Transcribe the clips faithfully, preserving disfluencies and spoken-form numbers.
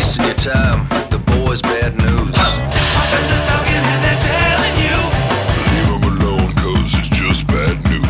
wasting your time. The boy's bad news. My friends are talking and they're telling you, leave him alone, cause it's just bad news.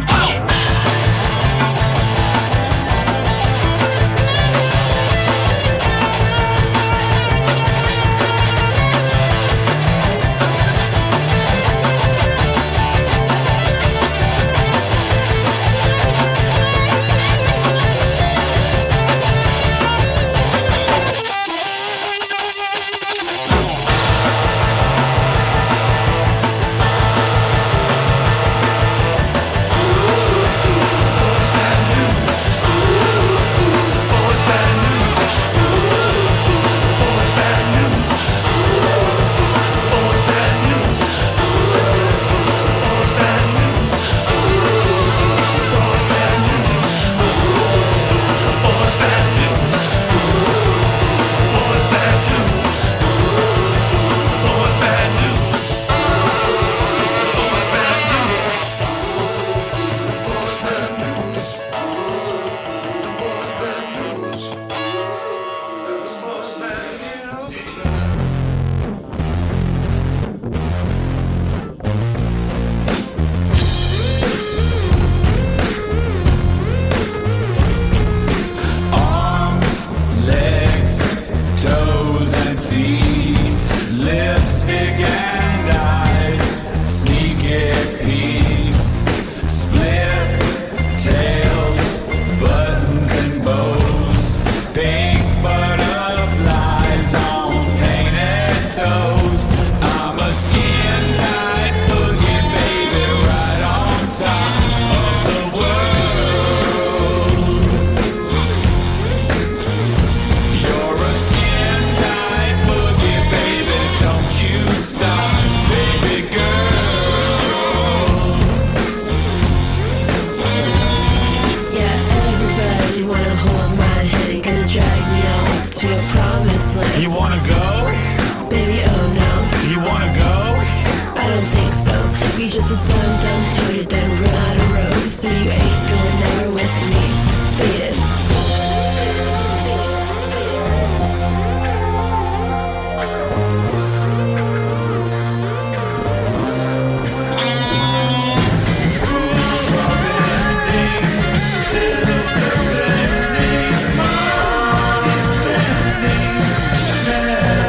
You wanna go? Baby, oh no. You wanna go? I don't think so. You just a dumb, dumb toad, you done run out of road. So you ain't going nowhere with me. Beat it. yeah.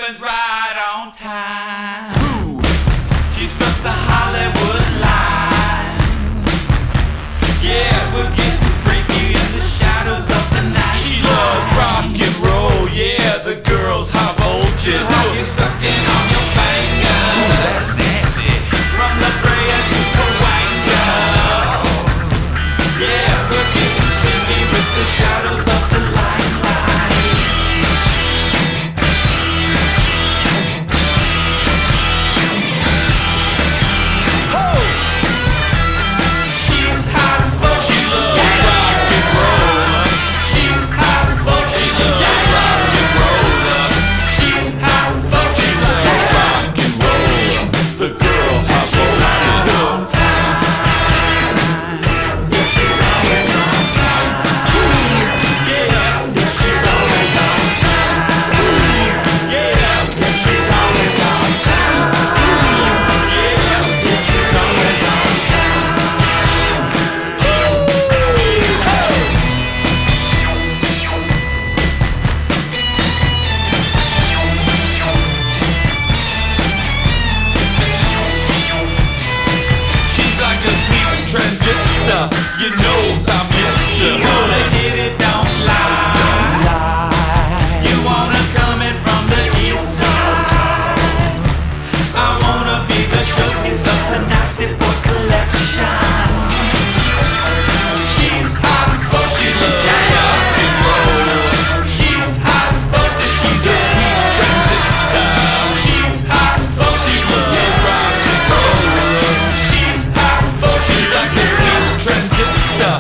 opens right on time. She strikes the Hollywood line. Yeah, we're getting freaky in the shadows of the night. She loves rock and roll, yeah, the girl's high voltage. You're sucking on your finger. That's sexy. From La Brea to Cahuenga. Yeah, we're getting sleepy with the shadows of the limelight. Oh! She's hot, but she loves rock and roll. She's hot, but she loves rock and roll. She's hot, but she loves rock and roll. The girl has voltage. On time. Yeah, she's always on time. Yeah, yeah, she's always on time. Yeah, yeah, she's always on time. Yeah, yeah, she's always on time. She's like a sweet transistor, you know I missed her. You wanna hit it, don't lie. You wanna come in from the east side. I wanna be the showpiece of her nasty boy collection. She's hot, but she loves rock and roll. She's hot, but she's a sweet transistor. She's hot, but she loves rock and roll. She's hot, but she's like a sweet transistor.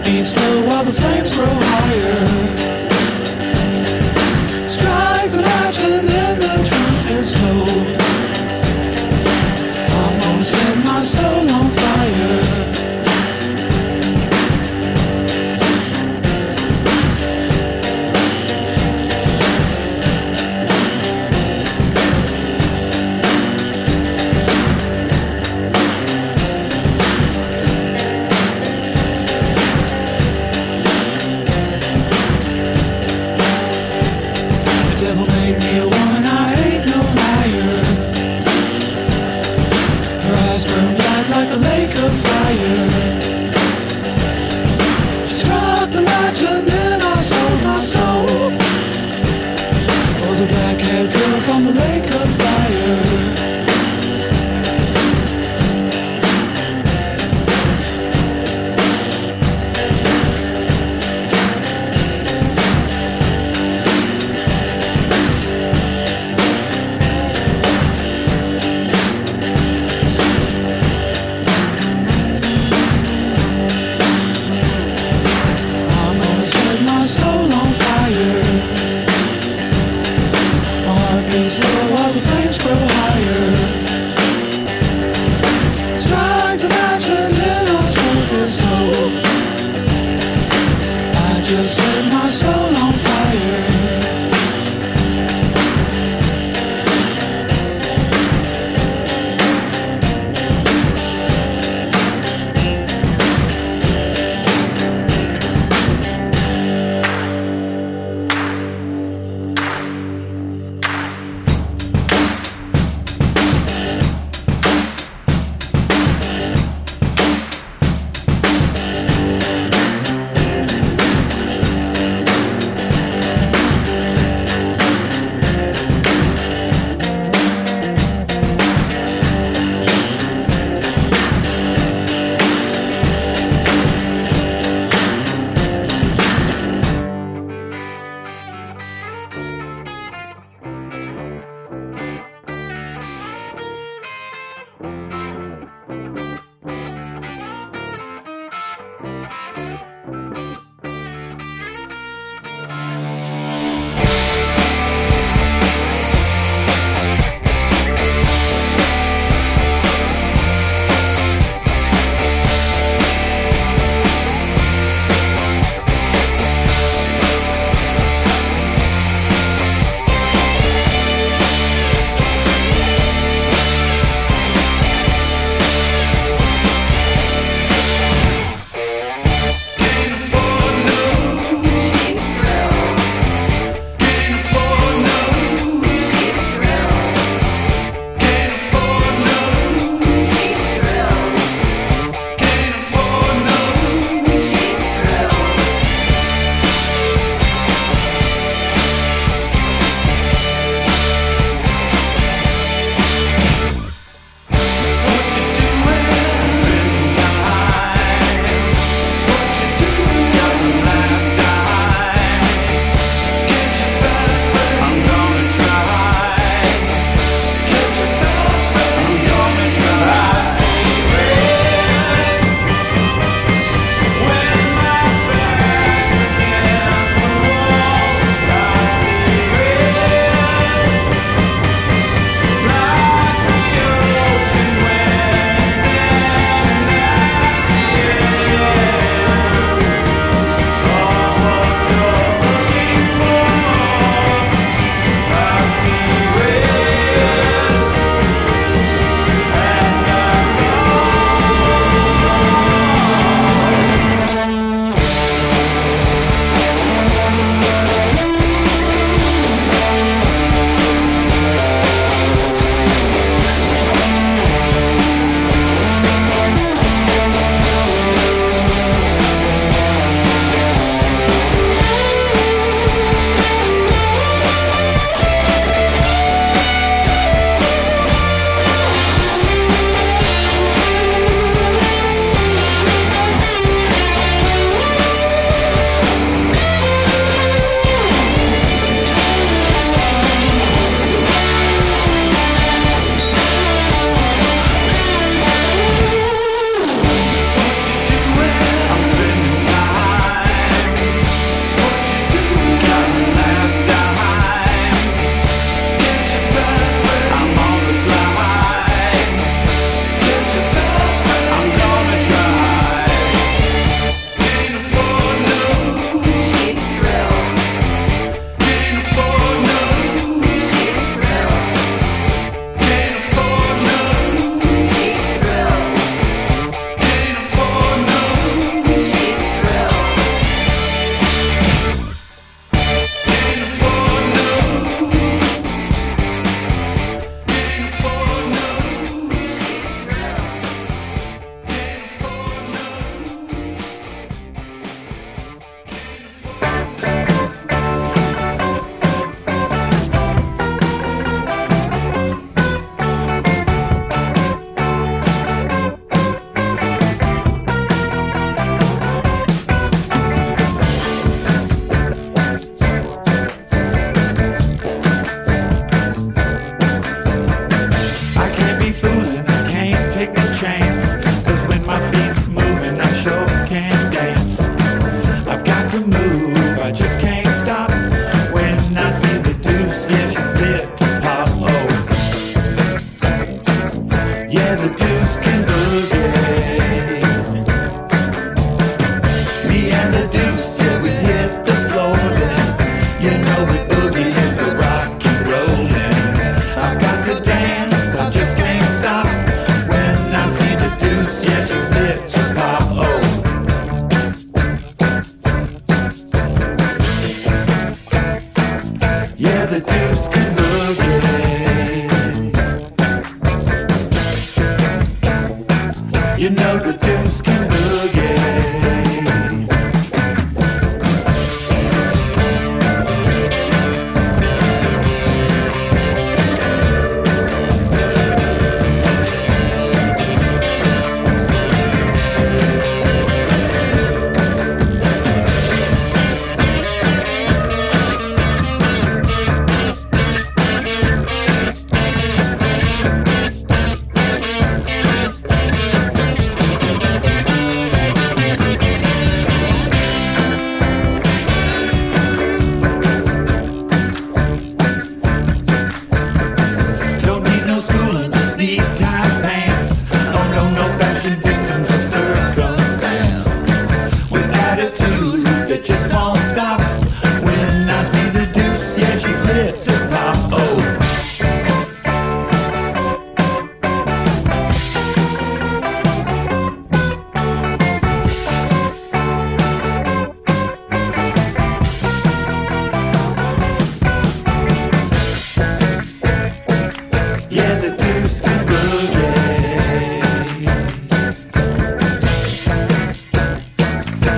beats low while the flames grow higher. Strike the match and then the truth is told. I'm gonna set my soul on fire.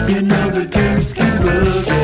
You know the dudes can boogie.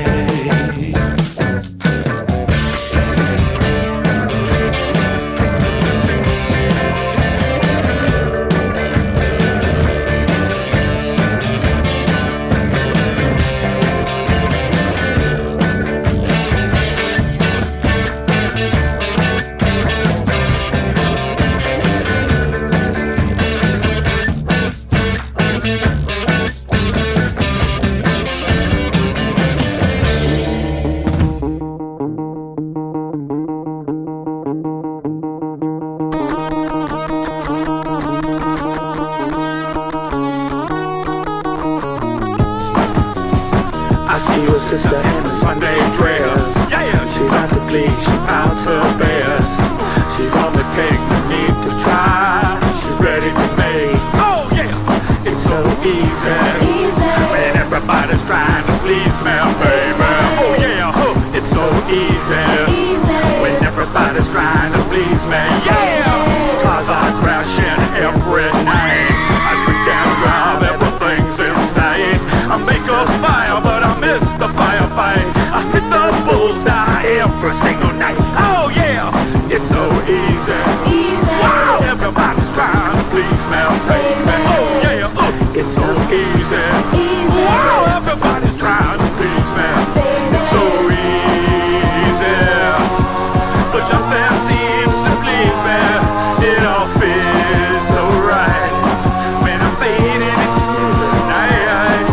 Sister in a Sunday dress. Yeah, she's at the glee, she pouts her best. She's on the take, no need to try. She's ready to make. Oh yeah, it's so easy, easy. When everybody's trying to please me, baby. Oh yeah, oh, it's so easy, easy. When everybody's trying to please me. Yeah, cause I crash in every night. I drink and drive, everything's insane. I make a fire, but I miss the firefight. I hit the bullseye every single night. Oh yeah, it's so easy, easy. Wow, everybody's trying to please me, baby. Oh yeah, oh, it's so easy, easy. Wow, everybody's trying to please me. It's so easy, but nothing seems to please me. It all feels so right when I'm fading into the night.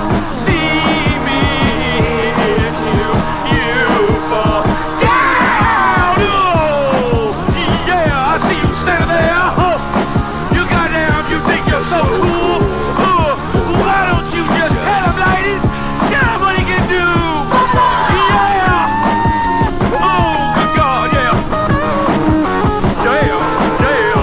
See me into you fall down. Oh, yeah, I see you standing there. Oh, you goddamn, you think you're so cool. Oh, why don't you just tell them, ladies? Tell them what he can do. Yeah. Oh, good God, yeah. Yeah, yeah.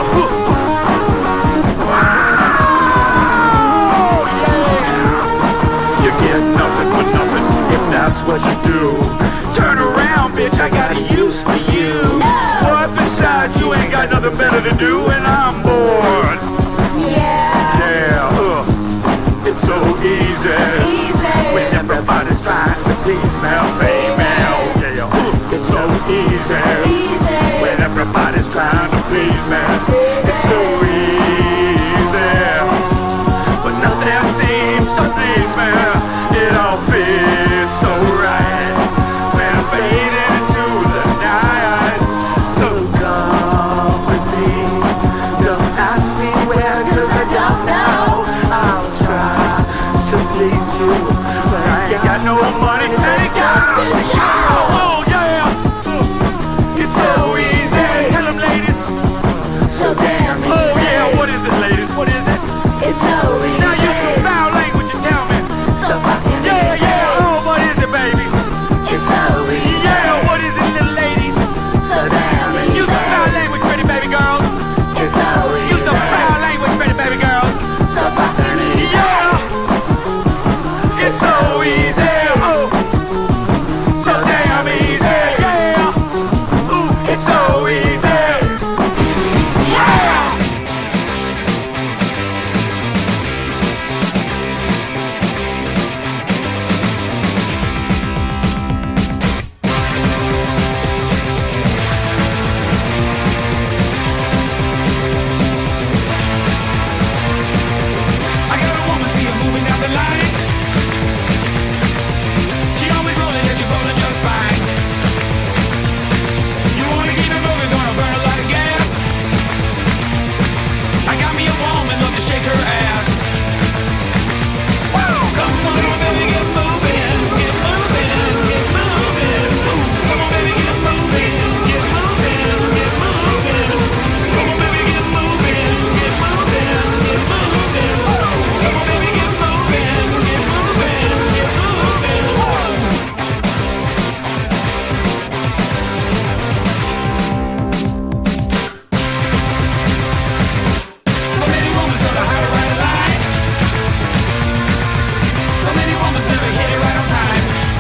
Wow, yeah. You get nothing for nothing if that's what you do. Turn around, bitch, I got a use for you. What besides, you ain't got nothing better to do, and I'm bored. Yeah. Yeah, uh, it's so easy. Easy. When everybody's trying to please me, baby. Oh, yeah, uh, it's so easy. Easy. When everybody's trying to please me. It's so easy. But nothing seems to please me. It all feels so right when I'm fading into the night. So come with me. Don't ask me where, cause I don't know. I'll try to please you, but I ain't got no money. Thank God. Oh yeah, it's so easy. Tell them, ladies. So damn easy. Oh yeah, what is it, ladies? What is it? It's so easy. Now use some foul language and tell me. So fucking Yeah, easy. yeah, oh, what is it, baby? It's so easy. Yeah, what is it, little ladies? So damn easy. Use some foul language, pretty baby girls. It's so easy. Use some foul language, pretty baby girls. So fucking easy. Yeah, it's so easy. Oh, so damn easy. Yeah, ooh, it's so easy. Yeah. I got a woman, see her moving down the line. She always rolling, yeah, she rolling just fine. You wanna keep it moving, gonna burn a lot of gas. I got me a woman, love to shake her ass. Woo! Come on, little baby, get moving, get moving, get moving. Ooh, come on, baby, get moving, get moving, get moving. Come on, baby, get moving, get moving, get moving. Come on, baby, get moving, get moving, get moving. So many women sort of hide right line. So many women never hit it right on time.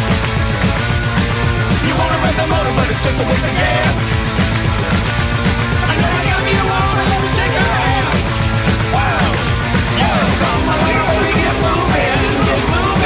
You wanna rev the motor, but it's just a waste of gas. I said I got me a woman, let me shake her ass. Wow. Yo, come on, little baby, get moving, get moving.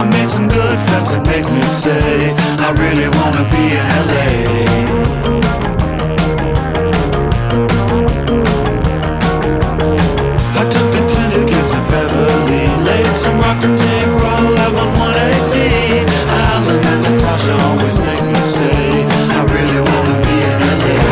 I made some good friends that make me say I really wanna be in L A. I took the ten to get to Beverly, laid some rock to tape, roll out one one eighty. Alan and Natasha always make me say I really wanna be in L A.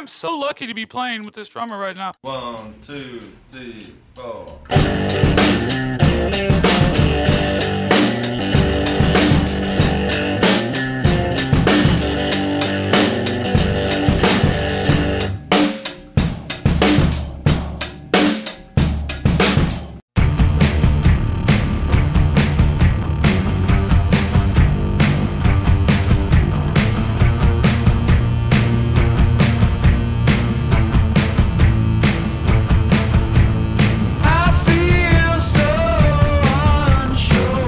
I'm so lucky to be playing with this drummer right now. One, two, three, four. I feel so unsure.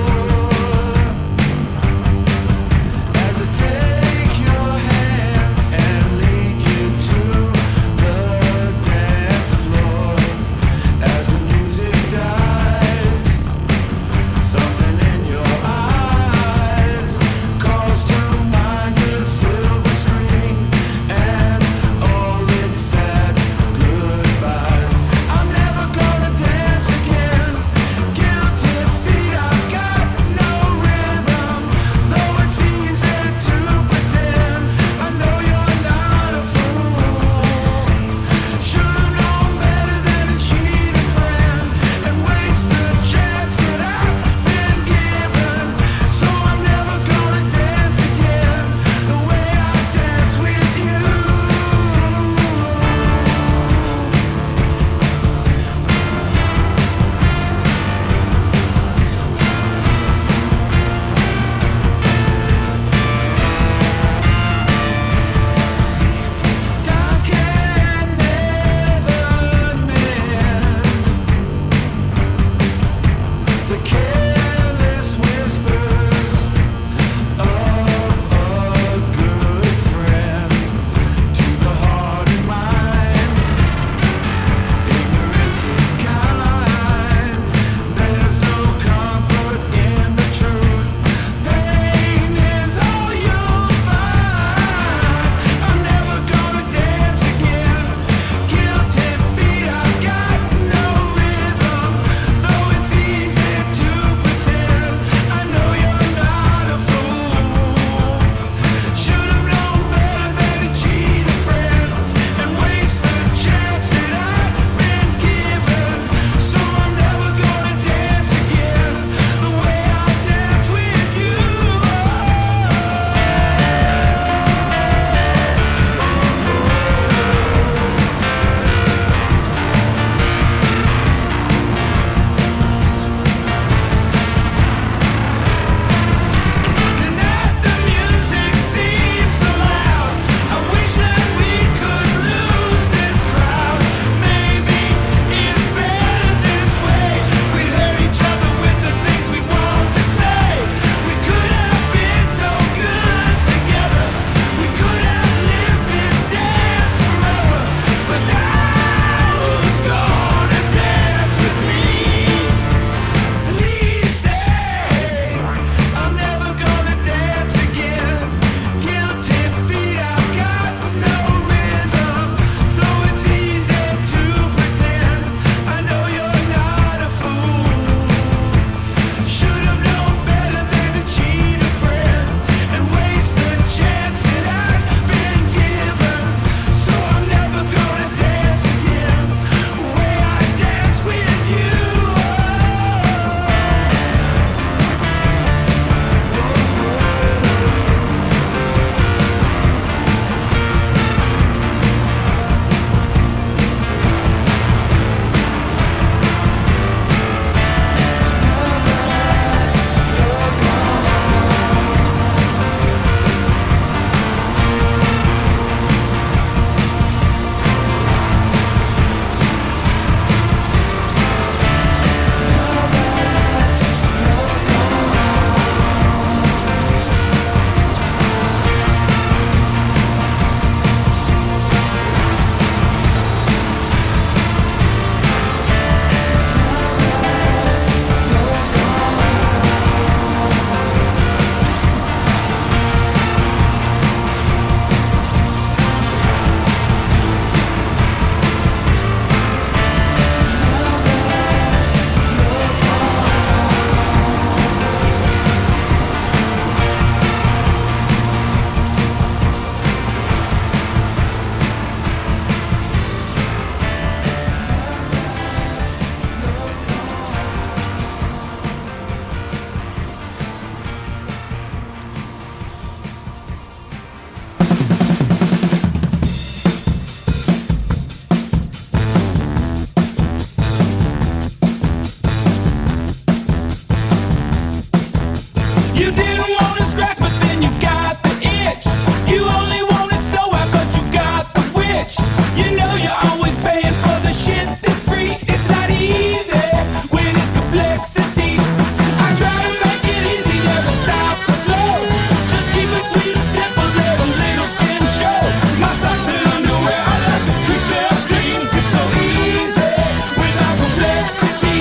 You didn't want to scratch, but then you got the itch. You only wanted Snow White, but you got the witch. You know you're always paying for the shit that's free. It's not easy when it's complexity. I try to make it easy, never stop the flow. Just keep it sweet and simple, let a little skin show. My socks and underwear, I like to keep them clean. It's so easy without complexity.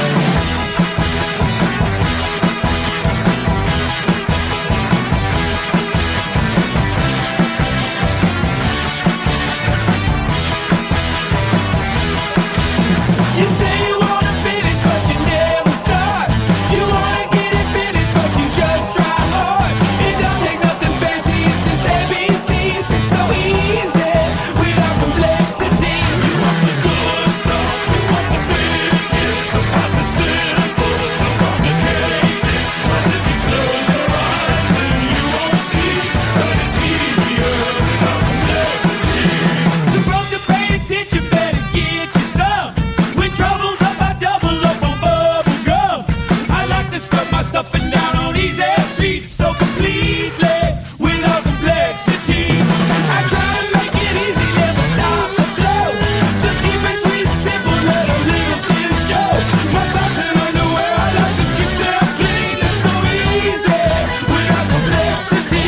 You say you wanna finish, but you never start. You wanna get it finished, but you just try hard. It don't take nothing fancy, it's just A B Cs. It's so easy without complexity. You want the good stuff, you want the big hit, about the simple, the complicated. But if you close your eyes, then you won't see that it's easier without complexity. So broke to pay attention, better get you some. When trouble's up, I double up on bubble gum. I like to stuff my stuffing down on easy street, so completely without complexity. I try to make it easy, never stop the flow. Just keep it sweet and simple, let a little skin show. My socks and underwear, I like to keep them clean. It's so easy without complexity.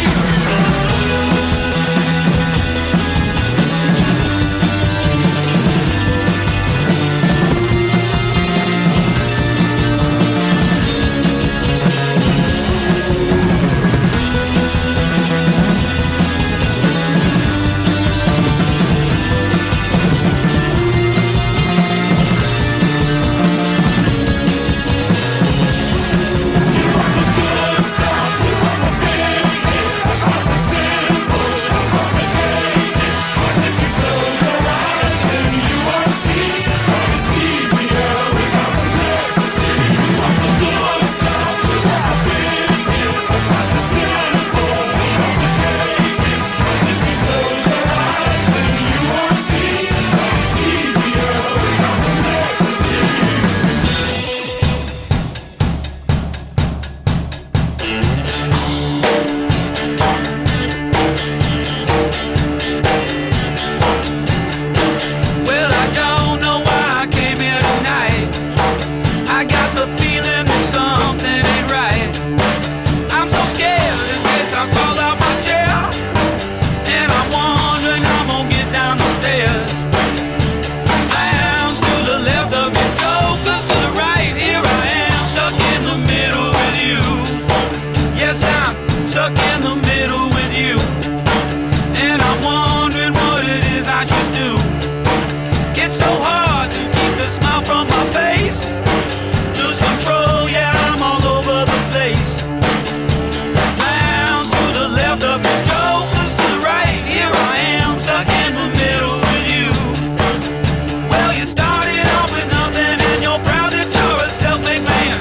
Well, I don't know why I came here tonight. I got the feeling that something ain't right. I'm so scared in case I fall out my chair, and I'm wondering how I'm gonna get down the stairs. Lounge to the left of me, focus to the right. Here I am, stuck in the middle with you. Yes, I'm stuck in the middle with you, and I'm wondering what it is I should do. It's so hard to keep the smile from my face. Lose control, yeah, I'm all over the place. Lounge to the left of me, focus to the right. Here I am, stuck in the middle with you. Well, you started off with nothing, and you're proud that you're a self-made man.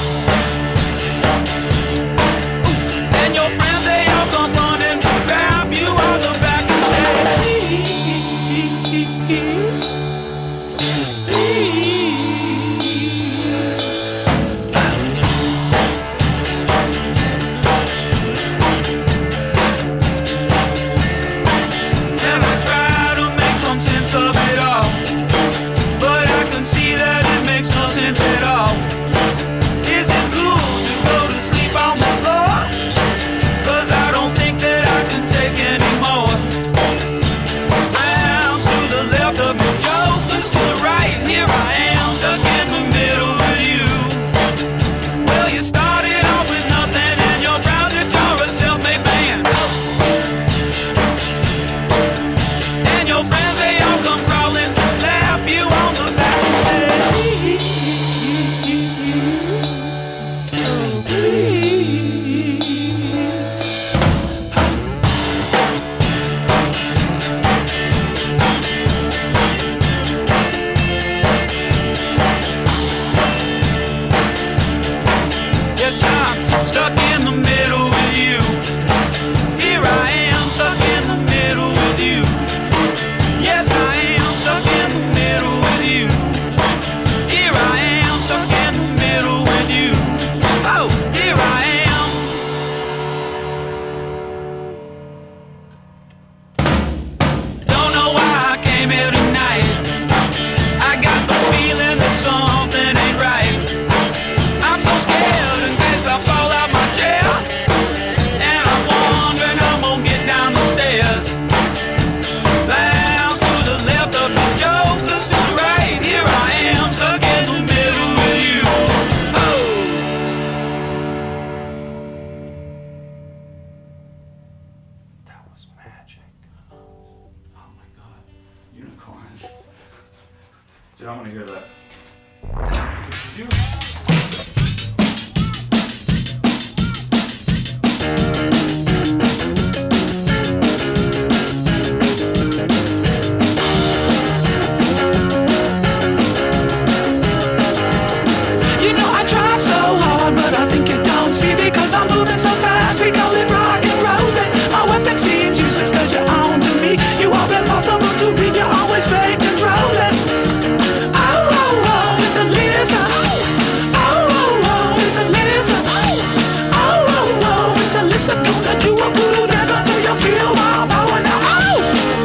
And your friends, they all come running to grab you on the back and say, please, please. And I try to make some sense of it all, but I can see that it makes no sense at all. Is it cool to go to sleep on the floor? 'Cause I don't think that I can take anymore. Rounds to the left of me, jokers to the right. Here I am, stuck in the middle with you. Well, you started off with nothing, and you're proud that you're a self-made man. And your friends, they all come crawling, slap you on the back and say, please, oh, please. Yes, I'm stuck in the middle with you. Here I am, stuck in the middle with you. Yes, I am stuck in the middle with you. Here I am, stuck in the middle with you. Oh, here I am. Yeah, I want to hear that. You? You know I try so hard, but I think you don't see because I'm moving so fast. We call it rock and rollin'. My weapon seems useless cause you're on to me. You are impossible to read, you're always straight controlling. Oh, oh, oh, it's a lizard. Oh, oh, oh, it's a lizard. Oh, oh, oh, it's a lizard. Gonna do a voodoo dance until you feel my power now. Oh!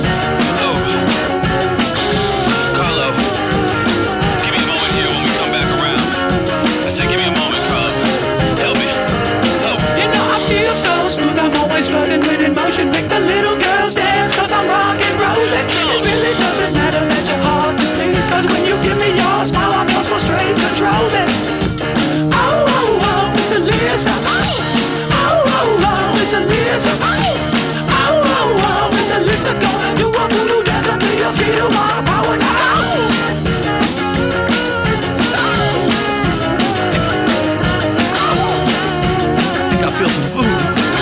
Carlo, give me a moment here when we come back around. I said give me a moment, Carlo. Help me. Oh. You know I feel so smooth, I'm always floating with in motion. Make the little girls dance cause I'm rock and rollin'. It really doesn't matter that you're hard to please, cause when you give me your smile I'm also straight controlling. Oh, oh, oh, it's a lizard. Oh, oh, oh, it's a lizard. Oh, oh, oh, it's a lizard. Gonna do a voodoo dance until you feel my power now. I think I feel some food.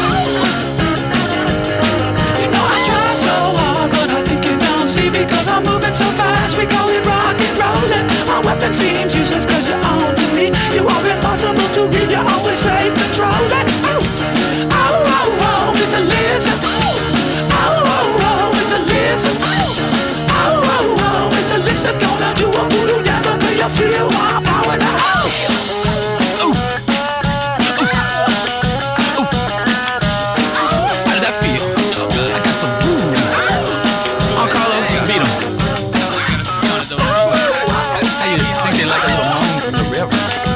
You know I try so hard, but I think you don't see because I'm moving so fast. We call it rock and rollin'. My weapon seems useless cause you're on to me. You are impossible to read, you're always straight controlling. Oh, oh, oh, oh, it's a lizard. Oh, oh, oh, it's a lizard. Oh, oh, oh, it's a lizard. Gonna do a voodoo dance until you feel my power now. How does that feel? I got some food. Oh, Carlo, beat him. How you think they like a little moan from the river?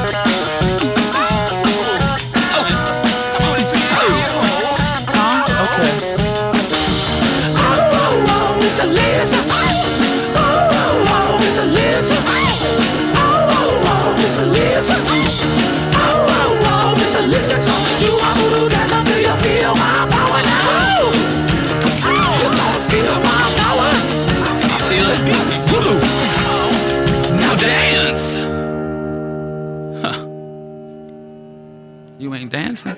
Okay. Oh, oh, oh, it's a lizard. Oh, oh, oh, it's a lizard. Oh, oh, oh, it's a lizard. Oh, oh, oh, it's a lizard. So you are voodoo dance until you feel my power now. You gonna feel my power. I feel it. Woo! Now dance. Huh. You ain't dancing?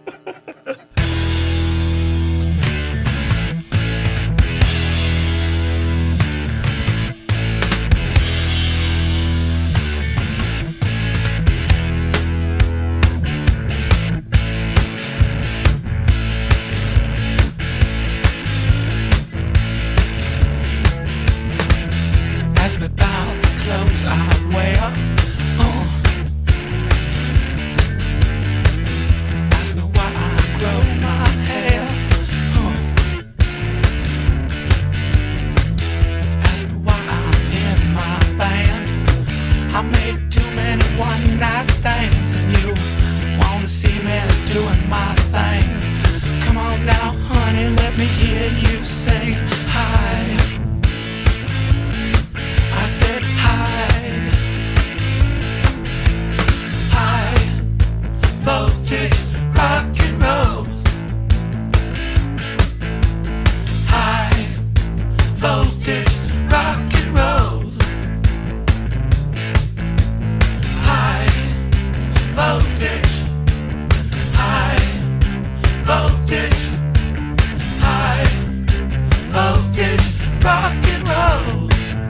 Ask me about the clothes I wear. Uh. Ask me why I grow my hair. Uh. Ask me why I'm in my band. I make too many one night stands, and you wanna see me doing my thing. Come on now, honey, let me hear you sing. Hi. I said hi, high voltage rock and roll, high voltage rock and roll, high voltage, high voltage, high voltage rock and roll.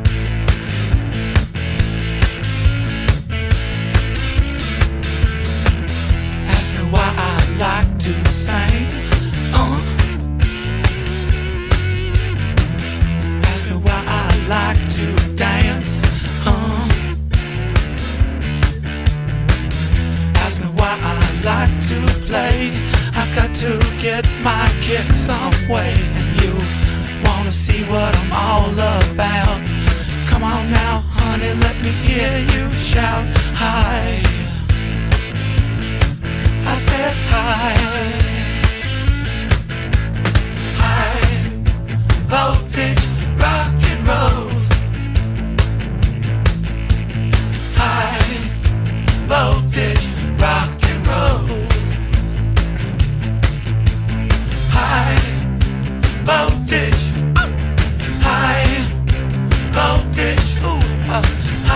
Why I like to sing. Uh. Ask me why I like to dance. Uh. Ask me why I like to play. I've got to get my kick some way, and you wanna see what I'm all about. Come on now, honey, let me hear you shout hi. I said hi, high voltage rock and roll, high voltage rock and roll, high voltage, high voltage, ooh, uh, high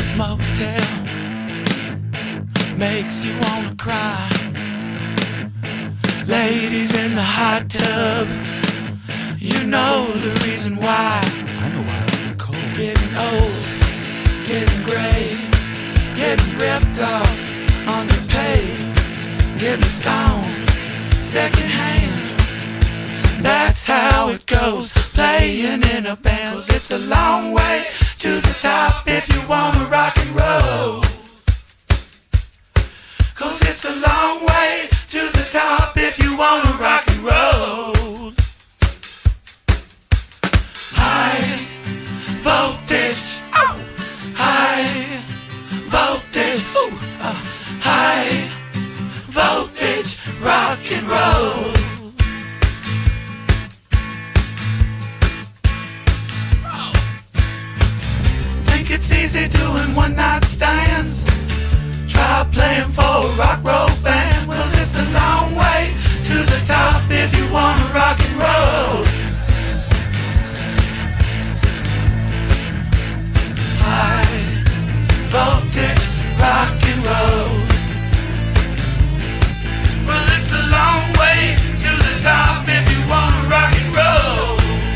motel makes you wanna cry. Ladies in the hot tub, you know the reason why. I know why I'm cold. Getting old, getting gray, getting ripped off, underpaid, getting stoned, secondhand. That's how it goes, playing in a band. 'Cause it's a long way to the top if you wanna rock and roll. 'Cause it's a long way to the top if you wanna rock and roll. High voltage, oh. High voltage, ooh. Uh, high voltage rock and roll. Think it's easy doing one night stands? Try playing for a rock roll band. 'Cause it's a long way to the top if you wanna rock and roll. High voltage rock and roll. Well, it's a long way to the top if you wanna rock and roll.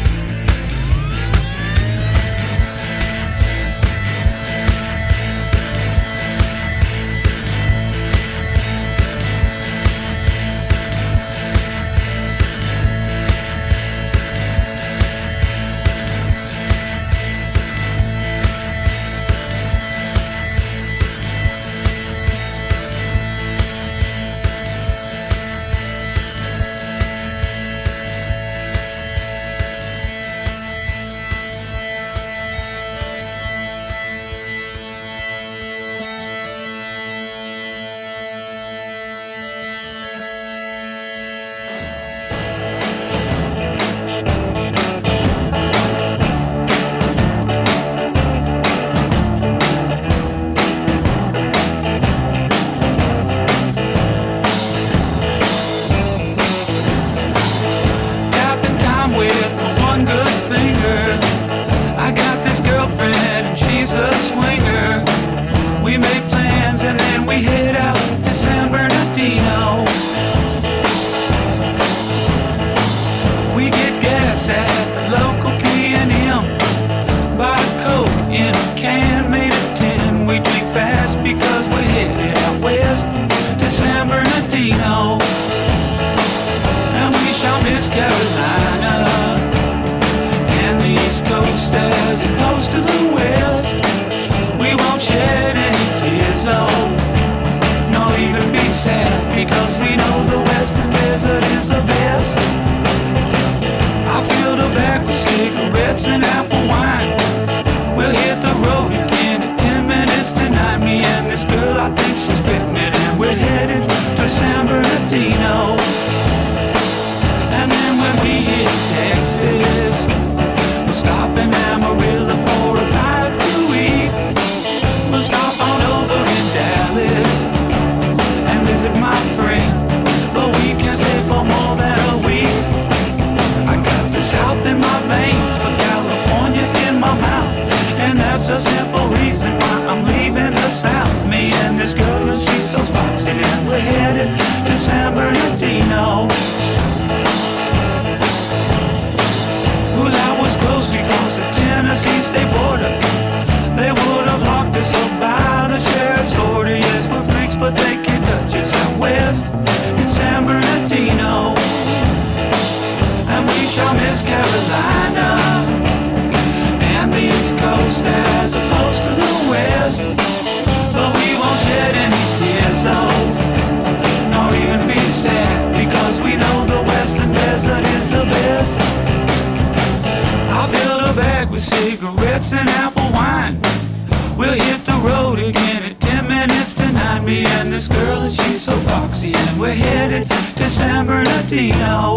Cigarettes and apple wine. We'll hit the road again at ten minutes to nine. Me and this girl, and she's so foxy, and we're headed to San Bernardino.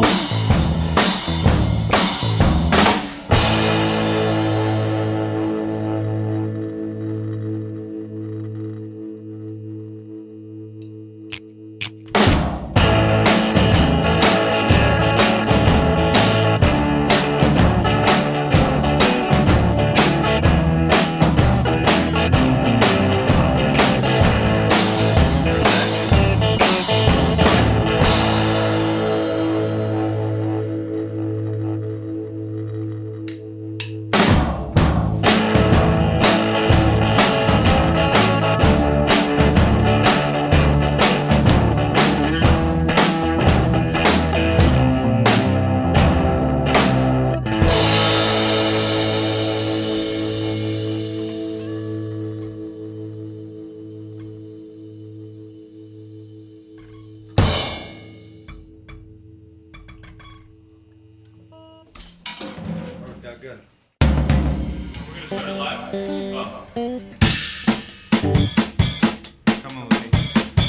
Come on, Lee.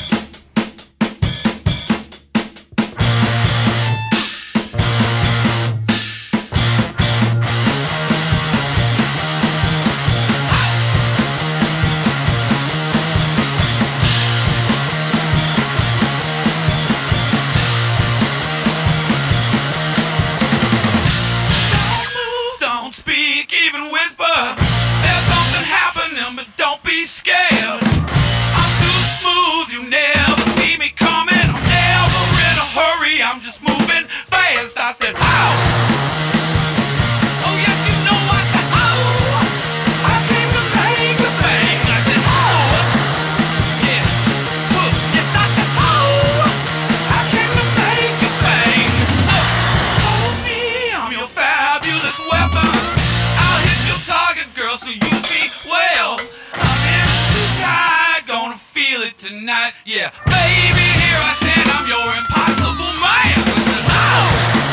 Tonight, yeah, baby, here I stand, I'm your impossible man. I said, oh,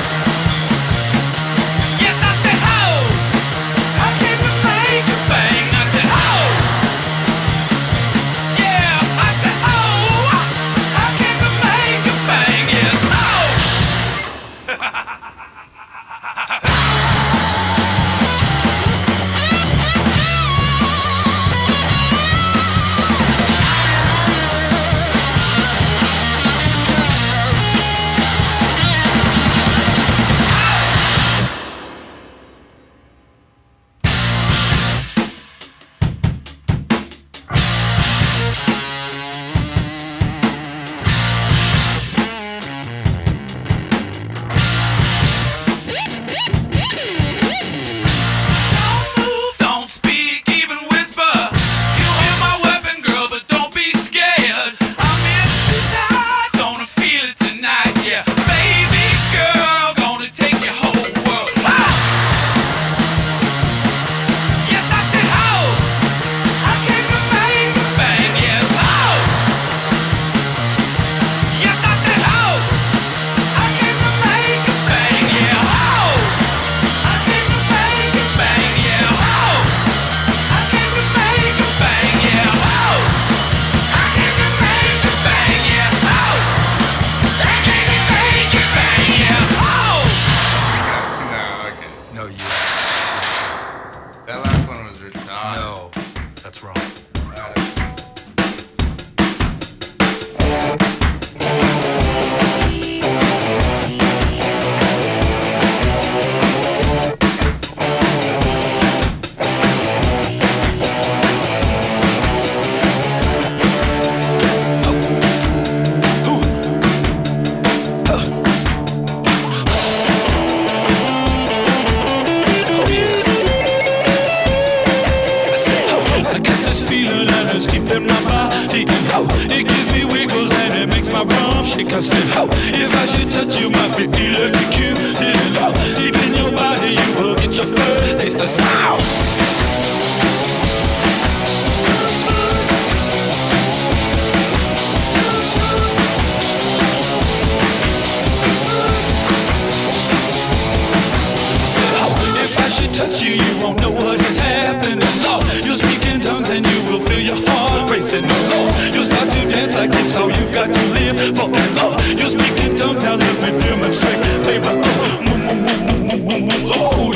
yes, I said, oh, I came to make a bang. I said, oh, yeah, I said, oh, I came to make a bang. Yes, I said, oh, if I should touch you, might be electrocuted. Oh, deep in your body, you will get your first taste of sound. Said, oh, if I should touch you, you won't know what is happening. Lord, you'll speak in tongues and you will feel your heart racing. No, Lord, you'll start to dance like it's all you've got to live for. And Lord, you speak in tongues, now let me demonstrate, baby. Oh, oh,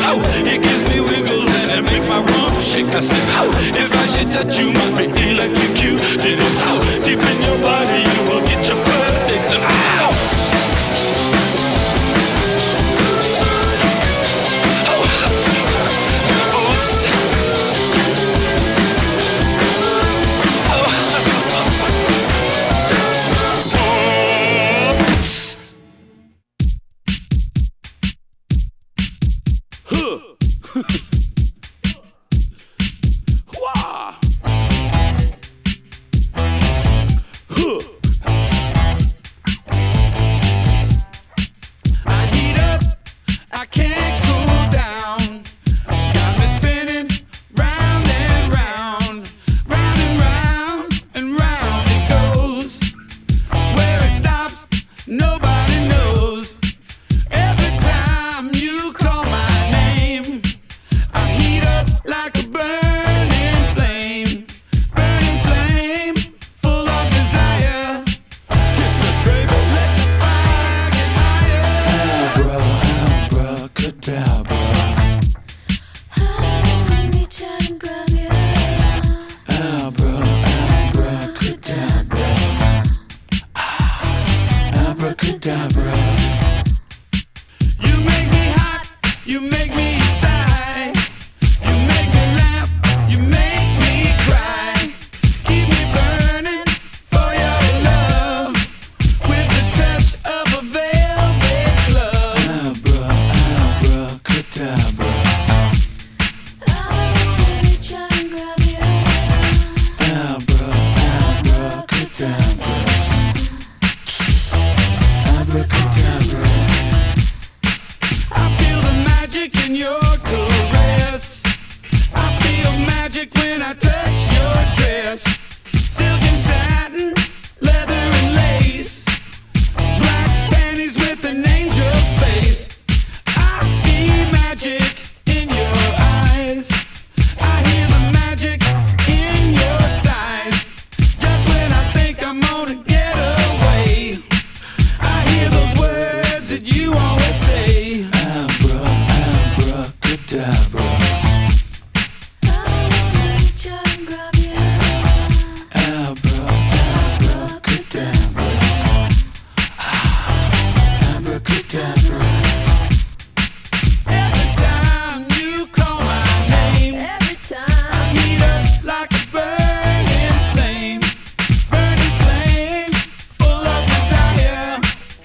oh, it gives me wiggles and it makes my rump shake. I said, oh, if I should touch you, might be electrocuted. Oh, deep in your body, you will get your first taste of ow.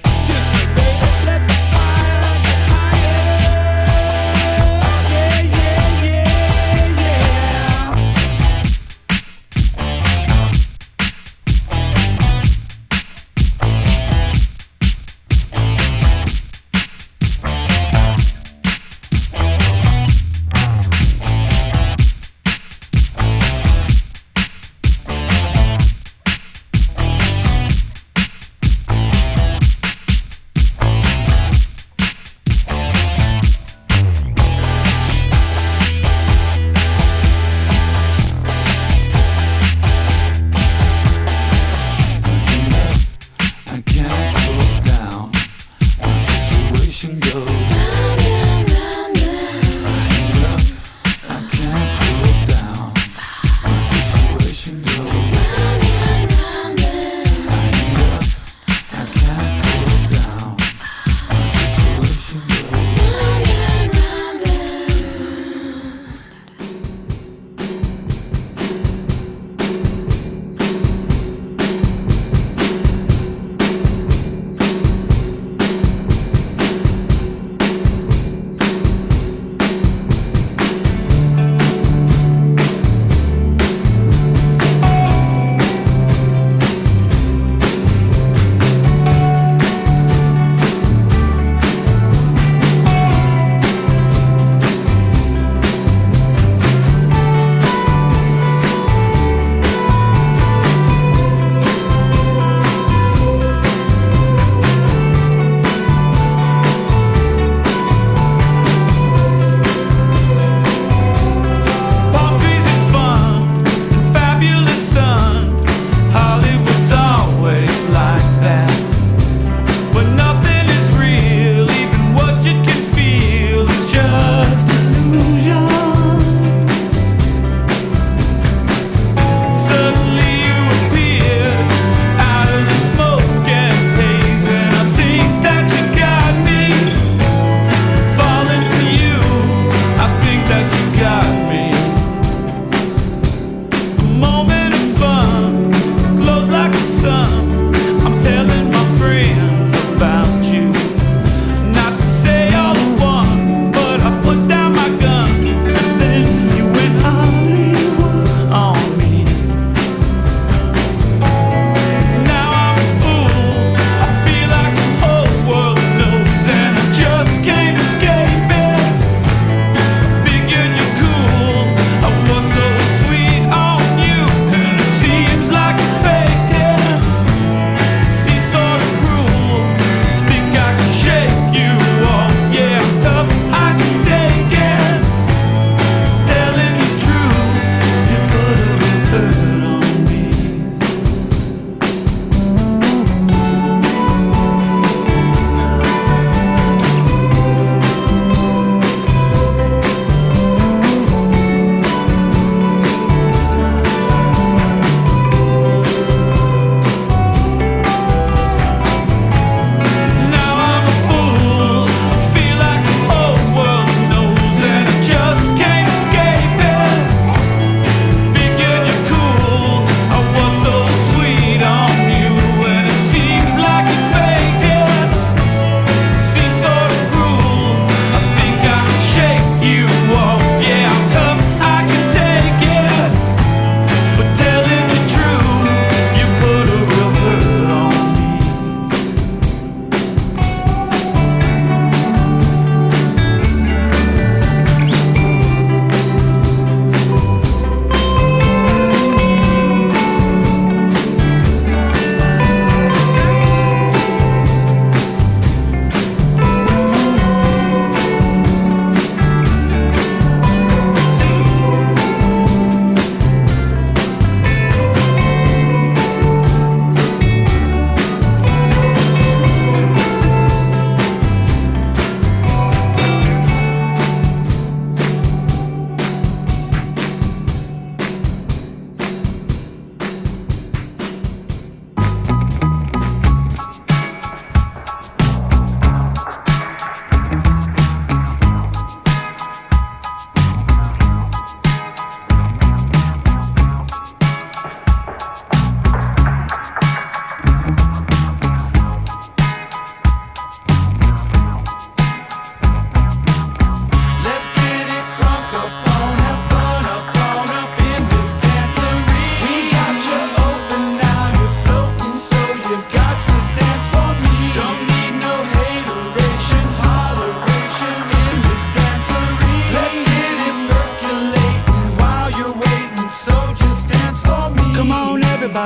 Yeah, yeah.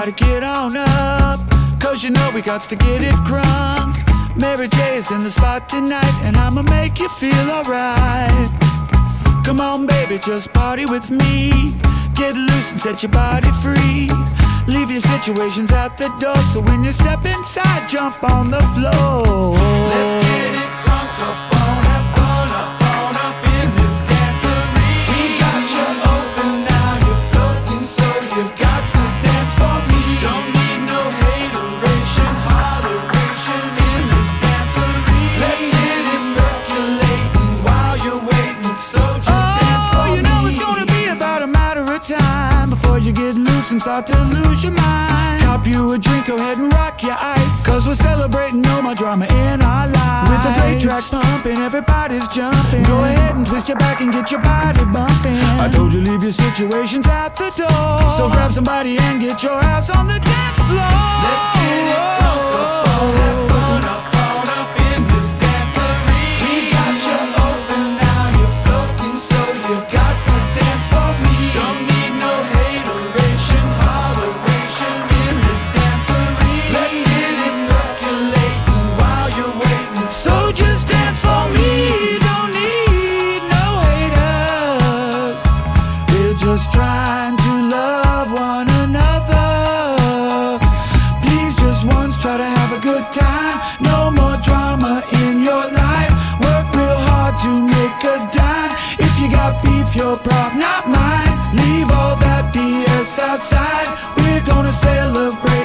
Everybody get on up, cause you know we got to get it crunk. Mary J is in the spot tonight, and I'ma make you feel alright. Come on baby, just party with me. Get loose and set your body free. Leave your situations at the door, so when you step inside, jump on the floor. Let's get it crunk up on, have fun up on, up in this dancery. We got you open now, you're floating, so you've got to dance for me. Don't need no hateration, holleration in this dancery. Let's get it percolating while you're waiting, so just oh, dance for me. You know it's gonna be about a matter of time before you get loose and start to lose your mind. Cop you a drink, go ahead and rock your ice, cause we're celebrating no more drama in our lives. With a great track pumping, everybody's jumping. Go ahead and twist your back and get your body bumping. I told you leave your situations at the door, so grab somebody and get your ass on the dance floor. Let's get it crunk up on, have fun up on, up in this dancery. We got you open now, you're floating, so you've got to dance for me. Don't need no hateration, holleration in this dancery. Let's get it percolating while you're waiting, so just dance for me. Don't need no haters, we're just trying to love one another. Please just once try to have a good time. No more drama in your life. Work real hard to make a dime. If you got beef, your problem, not mine. Leave all that B S outside. We're gonna celebrate